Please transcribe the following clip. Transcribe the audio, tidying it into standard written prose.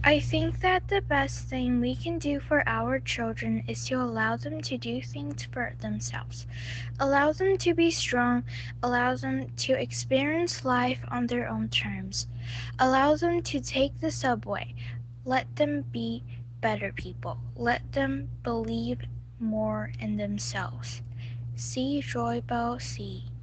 I think that the best thing we can do for our children is to allow them to do things for themselves. Allow them to be strong, allow them to experience life on their own terms. Allow them to take the subway. Let them be better people. Let them believe more in themselves. See Joy Bell, see.